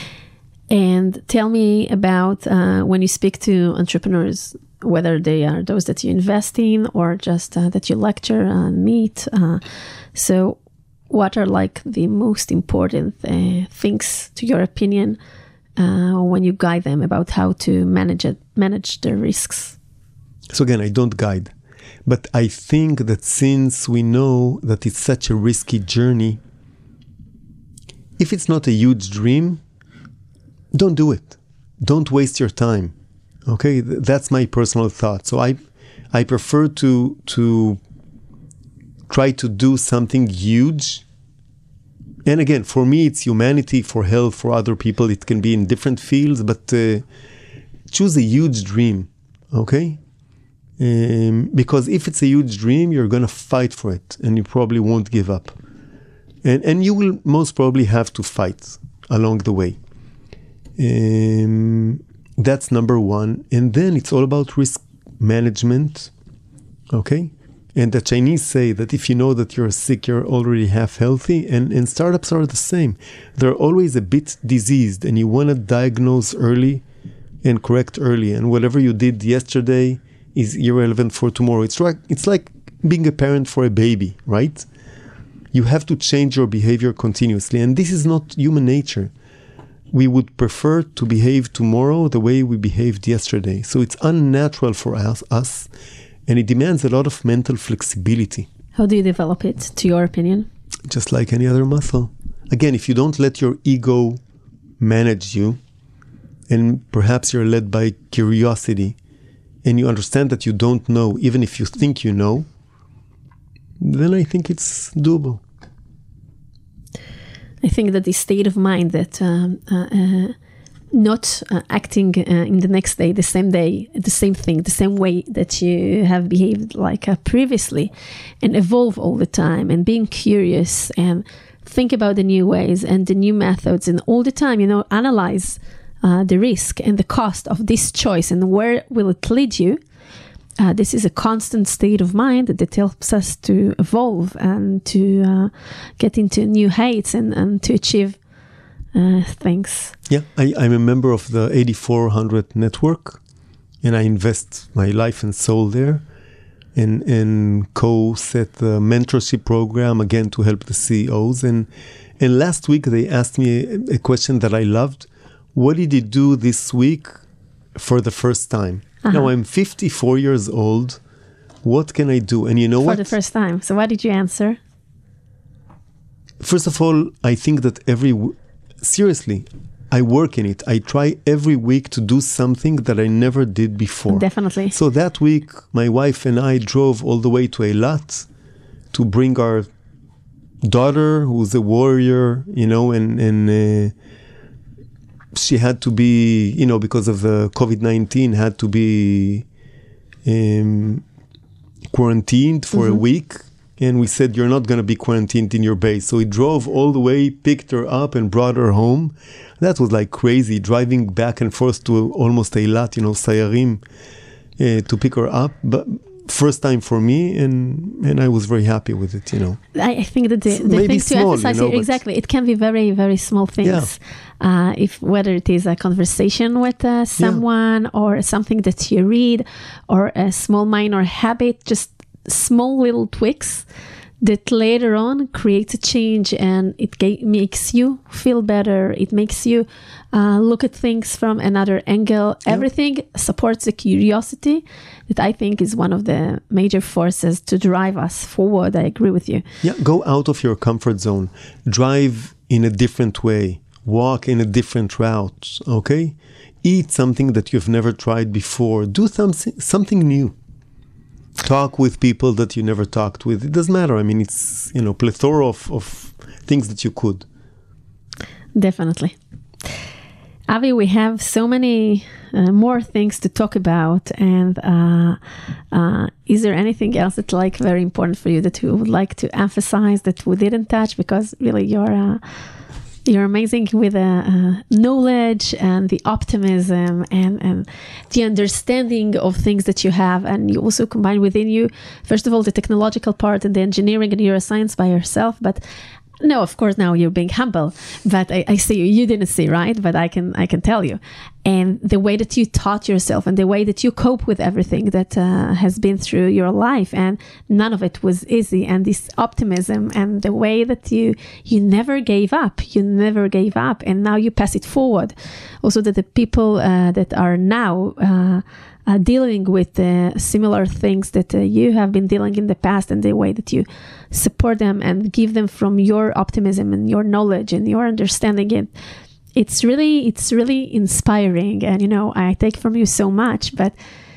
B: And tell me about when you speak to entrepreneurs, whether they are those that you invest in or just that you lecture and meet. So what are like the most important things, to your opinion, when you guide them about how to manage their risks?
C: So again, I don't guide. But I think that since we know that it's such a risky journey, if it's not a huge dream, don't do it. Don't waste your time. Okay, that's my personal thought. So I prefer to try to do something huge. And again, for me, it's humanity, for health, for other people. It can be in different fields, but choose a huge dream. Okay, because if it's a huge dream, you're gonna fight for it, and you probably won't give up. And you will most probably have to fight along the way. That's number one. And then it's all about risk management. Okay? And the Chinese say that if you know that you're sick, you're already half healthy. And startups are the same. They're always a bit diseased, and you want to diagnose early and correct early. And whatever you did yesterday is irrelevant for tomorrow. It's like being a parent for a baby, right? You have to change your behavior continuously. And this is not human nature. We would prefer to behave tomorrow the way we behaved yesterday. So it's unnatural for us, and it demands a lot of mental flexibility.
B: How do you develop it, to your opinion?
C: Just like any other muscle. Again, if you don't let your ego manage you, and perhaps you're led by curiosity, and you understand that you don't know, even if you think you know, then I think it's doable.
B: I think that the state of mind that not acting in the next day, the same day, the same thing, the same way that you have behaved like previously, and evolve all the time, and being curious and think about the new ways and the new methods, and all the time, analyze the risk and the cost of this choice and where will it lead you. This is a constant state of mind that helps us to evolve and to get into new heights and to achieve things.
C: Yeah, I'm a member of the 8400 network, and I invest my life and soul there, and co-set the mentorship program, again, to help the CEOs. And last week they asked me a question that I loved. What did you do this week for the first time? Now I'm 54 years old. What can I do? And you know what?
B: For the first time. So what did you answer?
C: First of all, I think that seriously, I work in it. I try every week to do something that I never did before.
B: Definitely.
C: So that week, my wife and I drove all the way to Eilat to bring our daughter, who's a warrior, and she had to be, because of the COVID-19, had to be quarantined for a week. And we said, you're not going to be quarantined in your base. So he drove all the way, picked her up and brought her home. That was like crazy, driving back and forth to almost Eilat, Sayarim, to pick her up. But first time for me, and I was very happy with it,
B: I think that the thing to emphasize here, exactly, it can be very, very small things. Yeah. Whether it is a conversation with someone or something that you read or a small minor habit, just small little tweaks that later on creates a change, and it makes you feel better. It makes you look at things from another angle. Yeah. Everything supports the curiosity that I think is one of the major forces to drive us forward. I agree with you.
C: Yeah, go out of your comfort zone. Drive in a different way. Walk in a different route, okay? Eat something that you've never tried before. Do something new. Talk with people that you never talked with. It doesn't matter. I mean, it's, plethora of things that you could.
B: Definitely. Avi, we have so many more things to talk about. And is there anything else that's very important for you that you would like to emphasize that we didn't touch? Because really you're amazing with the knowledge and the optimism and the understanding of things that you have. And you also combine within you, first of all, the technological part and the engineering and neuroscience by yourself. But no, of course, now you're being humble. But I see you didn't see, right? But I can tell you. And the way that you taught yourself and the way that you cope with everything that has been through your life, and none of it was easy. And this optimism and the way that you never gave up, and now you pass it forward. Also, that the people that are now dealing with similar things that you have been dealing in the past, and the way that you support them and give them from your optimism and your knowledge and your understanding. It's really inspiring, and I take from you so much, but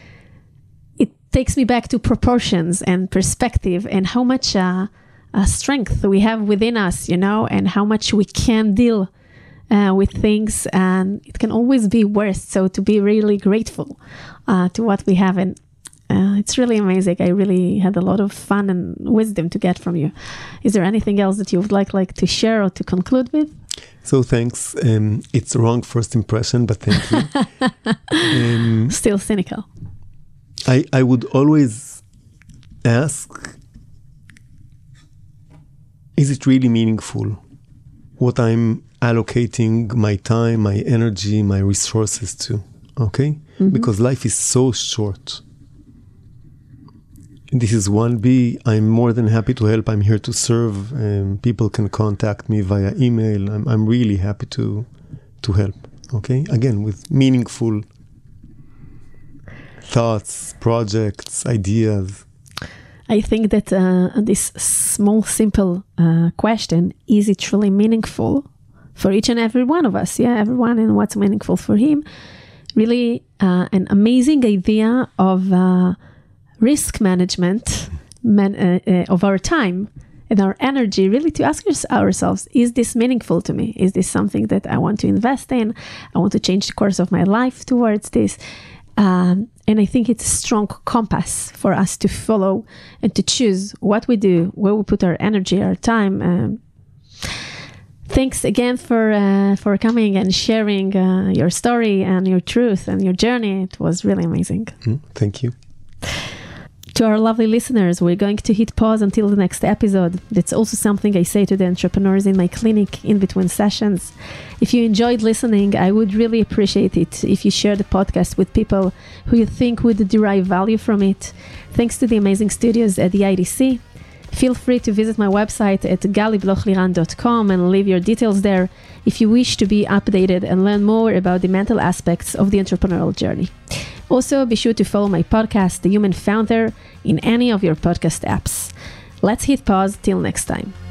B: it takes me back to proportions and perspective and how much strength we have within us, and how much we can deal with things, and it can always be worse. So to be really grateful to what we have, and it's really amazing. I really had a lot of fun and wisdom to get from you. Is there anything else that you would like to share or to conclude with?
C: So thanks. It's a wrong first impression, but thank you.
B: Still cynical.
C: I would always ask, is it really meaningful what I'm allocating my time, my energy, my resources to? Okay? Mm-hmm. Because life is so short. This is 1B. I'm more than happy to help. I'm here to serve. People can contact me via email. I'm really happy to help. Okay? Again, with meaningful thoughts, projects, ideas.
B: I think that this small, simple question, is it truly meaningful for each and every one of us? Yeah, everyone, and what's meaningful for him. Really an amazing idea of risk management of our time and our energy, really to ask ourselves, is this meaningful to me? Is this something that I want to invest in? I want to change the course of my life towards this. And I think it's a strong compass for us to follow and to choose what we do, where we put our energy, our time. Thanks again for coming and sharing your story and your truth and your journey. It was really amazing.
C: Thank you.
B: To our lovely listeners, we're going to hit pause until the next episode. That's also something I say to the entrepreneurs in my clinic in between sessions. If you enjoyed listening, I would really appreciate it if you share the podcast with people who you think would derive value from it. Thanks to the amazing studios at the IDC. Feel free to visit my website at galiblochliran.com and leave your details there if you wish to be updated and learn more about the mental aspects of the entrepreneurial journey. Also, be sure to follow my podcast, The Human Founder, in any of your podcast apps. Let's hit pause till next time.